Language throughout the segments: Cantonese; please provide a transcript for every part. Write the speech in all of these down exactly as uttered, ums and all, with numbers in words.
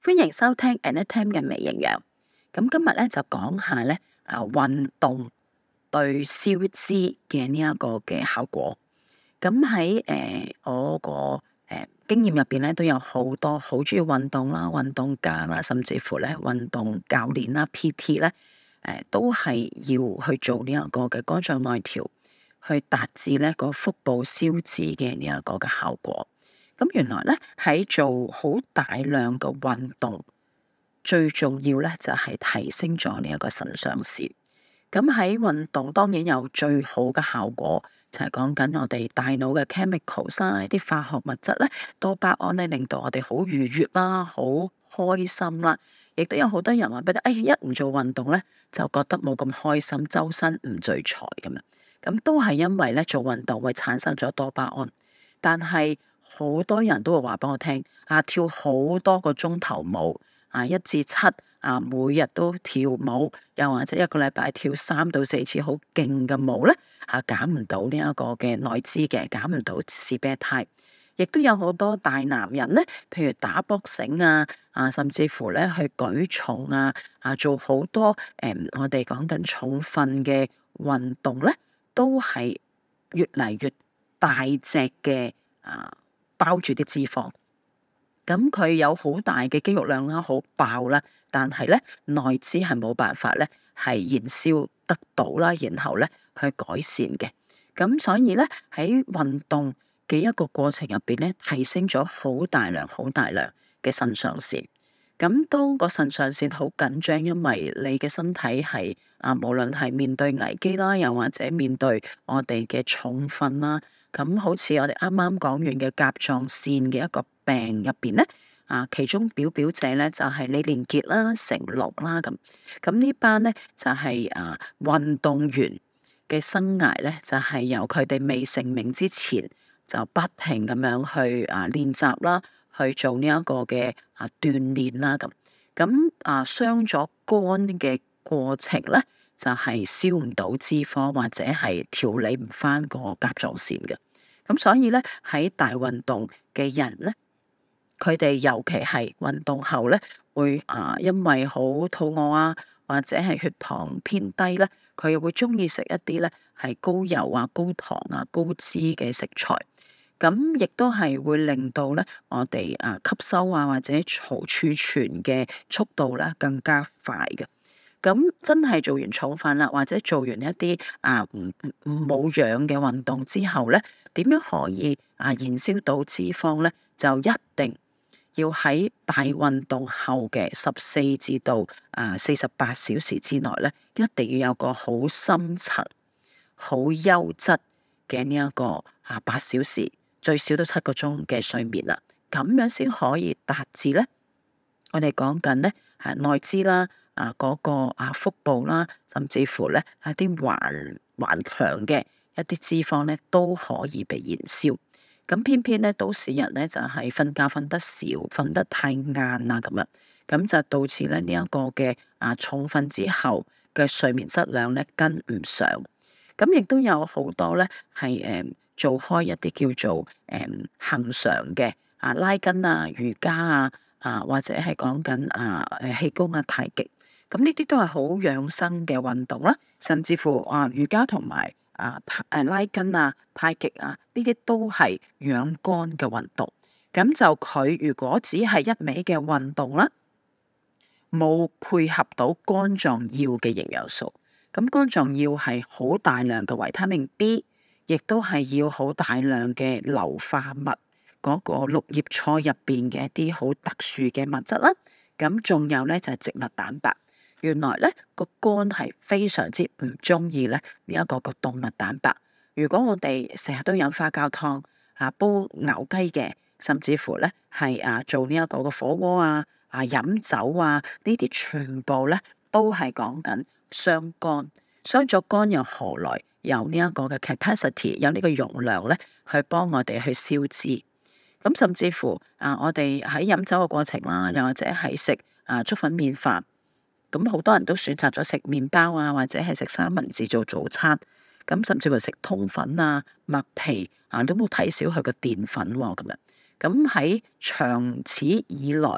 歡迎收聽 Anytime 嘅微營養。咁今日咧就講下咧啊運動對消脂嘅呢一個嘅效果。咁喺誒我個誒、呃、經驗入邊咧，都有好多好中意運動啦、運動家啦，甚至乎咧運動教練啦、P T 咧，誒、呃、都係要去做呢一個嘅肝臟內調，去達至咧個腹部消脂嘅呢一個嘅效果。咁原來咧喺做好大量嘅運動，最重要咧就係提升咗呢一個腎上腺。咁喺運動當然有最好嘅效果，就係講緊我哋大腦嘅 chemicals 啦，啲化學物質咧，多巴胺咧令到我哋好愉悅啦，好開心啦。亦都有好多人話俾你，哎，一唔做運動咧就覺得冇咁開心，周身唔聚財咁樣。咁都係因為咧做運動會產生咗多巴胺，但係好多人都會話俾我聽，啊跳好多個鐘頭舞，啊一至七啊每日都跳舞，又或者一個禮拜跳三到四次好勁嘅舞咧，啊減唔到呢一個嘅內脂嘅，減唔到士啤肽。亦都有好多大男人咧，譬如打搏繩啊，啊甚至乎咧去舉重啊，啊做好多誒、嗯、我哋講緊重訓嘅運動咧，都係越嚟越大隻嘅啊，包住啲脂肪。咁佢有好大嘅肌肉量啦，好爆啦，但係咧內脂係冇辦法咧係燃燒得到啦，然後咧去改善嘅。咁所以咧喺運動嘅一個過程入邊咧，提升咗好大量、好大量嘅腎上腺。咁當個腎上腺好緊張，因為你嘅身體係啊，無論係面對危機啦，又或者面對我哋嘅重訓啦。咁好似我哋啱啱講完嘅甲狀腺嘅一個病入邊咧，啊，其中表表者咧就係李連杰啦、成龍啦咁。咁呢班咧就係啊運動員嘅生涯咧，就係由佢哋未成名之前就不停咁樣去啊練習啦，去做呢一個嘅啊鍛鍊啦咁。咁啊傷咗肝嘅過程咧，就係燒唔到脂肪或者係調理唔翻個甲狀腺嘅。咁所以咧喺大運動嘅人咧，佢哋尤其係運動後咧，會啊因為好肚餓啊，或者係血糖偏低咧，佢又會中意食一啲咧係高油啊、高糖啊、高脂嘅食材。咁亦都係會令到咧我哋啊吸收啊或者儲儲存嘅速度咧更加快嘅。咁真係做完重訓啦，或者做完一啲啊唔唔冇氧嘅運動之後咧，點樣可以啊燃燒到脂肪咧？就一定要喺大運動後嘅十四至到啊四十八小時之內咧，一定要有個好深層、好優質嘅呢一個啊八小時，最少都七個鐘嘅睡眠啦，咁樣先可以達至咧。我哋講緊咧係內脂啦。啊，嗰個啊腹部啦，甚至乎咧一啲頑頑強嘅一啲脂肪咧，都可以被燃燒。咁偏偏咧都市人咧就係瞓覺瞓得少，瞓得太晏啊咁樣，咁就導致咧呢一個嘅啊重訓之後嘅睡眠質量咧跟唔上。咁亦都有好多咧係誒做開一啲叫做誒恆常嘅啊拉筋啊、瑜伽啊啊或者係講緊啊誒氣功啊、太極。咁呢啲都係好養生嘅運動啦，甚至乎啊瑜伽同埋啊誒拉筋啊、太極啊，呢啲都係養肝嘅運動。咁就佢如果只係一味嘅運動啦，冇配合到肝臟要嘅營養素，咁肝臟要係好大量嘅維他命 B，亦都係要好大量嘅硫化物，嗰個綠葉菜入邊嘅一啲好特殊嘅物質啦。咁仲有咧就係植物蛋白。原來咧個肝係非常之唔中意咧呢一個個動物蛋白。如果我哋成日都飲花膠湯啊、煲牛雞嘅，甚至乎咧係啊做呢一個個火鍋啊、啊飲酒啊，呢啲全部咧都係講緊傷肝。傷咗肝又何來有呢一個嘅 capacity， 有呢個容量咧去幫我哋去消脂？咁甚至乎啊，我哋喺飲酒嘅過程啦，又或者係食啊粥粉麵飯。咁好多人都選擇咗食麵包啊，或者係食三文治做早餐。咁甚至乎食通粉啊、麥皮啊，都冇睇少佢個澱粉喎、啊。咁樣咁喺長此以來咁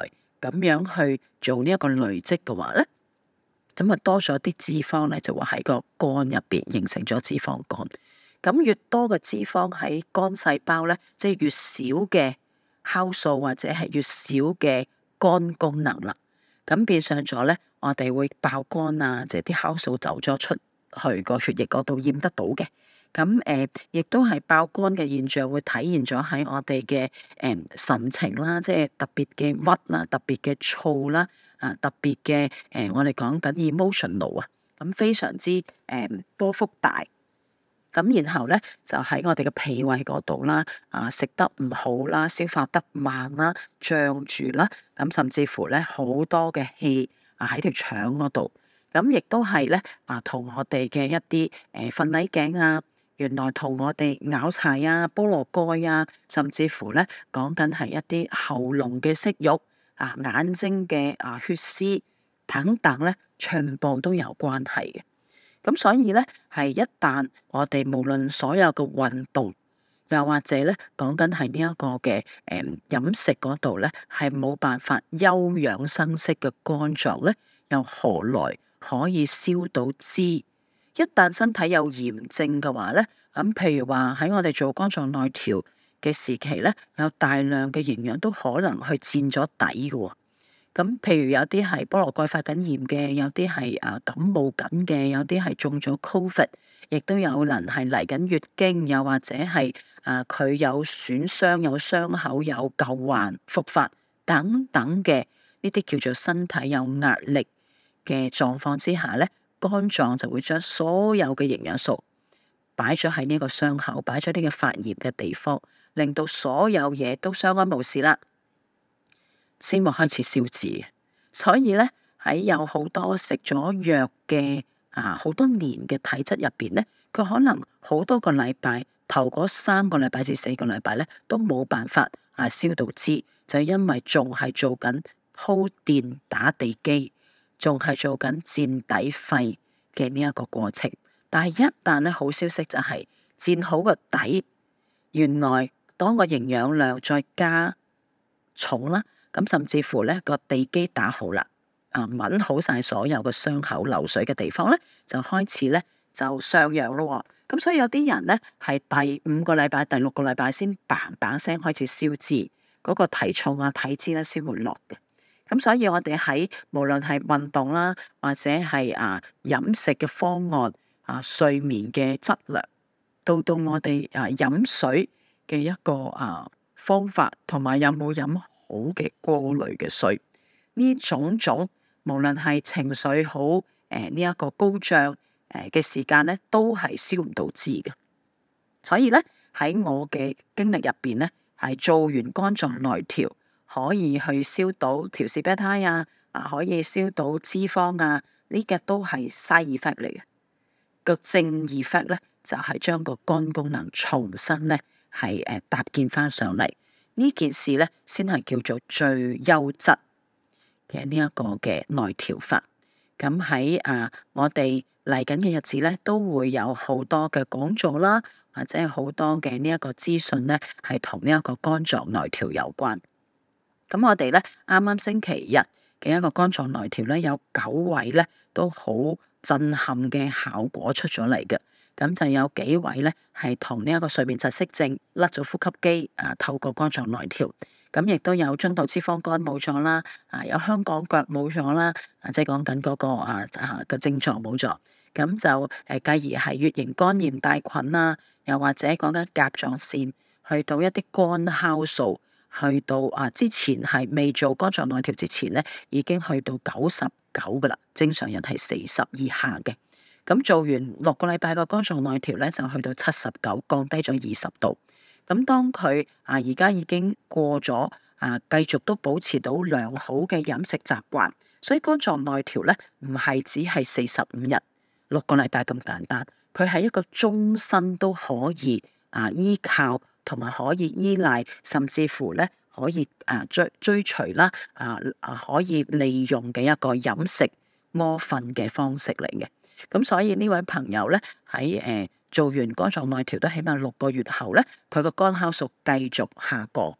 咁樣去做呢一個累積嘅話咧，咁啊多咗啲脂肪咧，就會喺個肝入邊形成咗脂肪肝。咁越多嘅脂肪喺肝細胞咧，即係越少嘅酵素或者係越少嘅肝功能啦。咁變相咗咧，我哋會爆肝啊，即係啲酵素走咗出去個血液嗰度驗得到嘅。咁誒，亦都係爆肝嘅現象會體現咗喺我哋嘅誒神情啦，即係特別嘅鬱啦，特別嘅燥啦，啊特別嘅誒，我哋講緊 emotional 啊，咁非常之誒、嗯、波幅大。咁然後咧就喺我哋嘅脾胃嗰度啦，啊食得唔好啦，消化得慢啦，脹住啦，咁甚至乎咧好多嘅氣啊喺條腸嗰度，咁亦都係咧啊同我哋嘅一啲誒瞓捩頸啊，原來同我哋拗柴啊、菠蘿蓋啊，甚至乎咧講緊係一啲喉嚨嘅息肉啊、眼睛嘅啊血絲等等咧，全部都有關係嘅。咁所以咧，係一旦我哋無論所有嘅運動，又或者咧講緊係呢一個嘅誒飲食嗰度咧，係冇辦法休養生息嘅肝臟咧，又何來可以燒到脂？一旦身體有炎症嘅話咧，咁譬如話喺我哋做肝臟內調嘅時期咧，有大量嘅營養都可能去佔咗底嘅喎。咁譬如有啲係菠蘿蓋發緊炎嘅，有啲係啊感冒緊嘅，有啲係中咗 Covid，亦都有人係嚟緊月經，又或者係啊佢有損傷、有傷口、有舊患復發等等嘅呢啲叫做身體有壓力嘅狀況之下咧，肝臟就會將所有嘅營養素擺咗喺呢個傷口，擺咗呢個發炎嘅地方，令到所有嘢都相安無事啦。先會開始燒脂，所以咧喺有好多食咗藥嘅啊好多年嘅體質入邊咧，佢可能好多個禮拜，頭嗰三個禮拜至四個禮拜咧都冇辦法啊燒到脂，就因為仲係做緊鋪墊打地基，仲係做緊墊底肺嘅呢一個過程。但係一旦咧好消息就係墊好個底，原來當個營養量再加重啦。咁甚至乎咧個地基打好啦，啊揾好晒所有嘅傷口流水嘅地方咧，就開始咧就上揚咯。咁所以有啲人咧係第五個禮拜、第六個禮拜先嘭嘭聲開始燒脂，嗰個體重啊、體脂咧先會落嘅。咁所以我哋喺無論係運動啦，或者係啊飲食嘅方案啊、睡眠嘅質量，到到我哋啊飲水嘅一個啊方法，同埋有冇飲好嘅過濾嘅水，呢種種無論係情緒好誒呢一個高漲誒嘅時間咧，都係燒唔到脂嘅。所以咧喺我嘅經歷入邊咧，係做完肝臟內調，可以去燒到調氏啤胎啊，啊可以燒到脂肪啊，呢個都係 side effect 嚟嘅。個正 effect 咧就係、是、將個肝功能重新咧係誒搭建翻上嚟。呢件事咧，先係叫做最優質嘅呢一個嘅內調法。咁喺啊，我哋嚟緊嘅日子咧，都會有好多嘅講座啦，或者係好多嘅呢一個資訊咧，係同呢一個肝臟內調有關。咁我哋咧啱啱星期日嘅一個肝臟內調咧，有九位咧都好震撼嘅效果出咗嚟嘅。咁就有幾位咧，係同呢一個睡眠窒息症甩咗呼吸機啊，透過肝臟內調，咁亦都有中度脂肪肝冇咗啦，啊有香港腳冇咗啦，啊即係講緊嗰個啊啊個症狀冇咗，咁就誒繼而係乙型肝炎帶菌啦，又或者講緊甲狀腺去到一啲肝酵素，去到啊之前係未做肝臟內調之前咧，已經去到九十九噶啦，正常人係四十以下嘅。咁做完六個禮拜個肝臟內調咧，就去到七十九，降低咗二十度。咁當佢啊而家已經過咗啊，繼續都保持到良好嘅飲食習慣，所以肝臟內調咧唔係只係四十五日六個禮拜咁簡單，佢係一個終身都可以啊依靠同埋可以依賴，甚至乎咧可以啊追追隨啦啊啊可以利用嘅一個飲食屙瞓嘅方式嚟嘅。咁所以呢位朋友咧喺誒做完肝臟內調都起碼六個月後咧，佢個肝酵素繼續下降，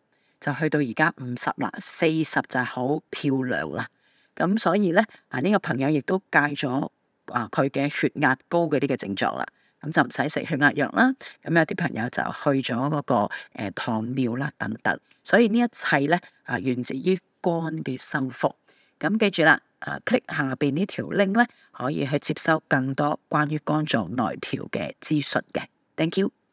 就去到而家五十啦，四十就係好漂亮啦。咁所以咧啊，呢個朋友亦都戒咗啊佢嘅血壓高嘅呢個症狀啦。咁就唔使食血壓藥啦。咁有啲朋友就去咗嗰個誒糖尿啦等等。所以呢一切咧啊，源自於肝嘅修復。咁記住啦，啊 click 下邊呢條 link 咧，可以去接收更多關於肝臟內調嘅資訊嘅。Thank you。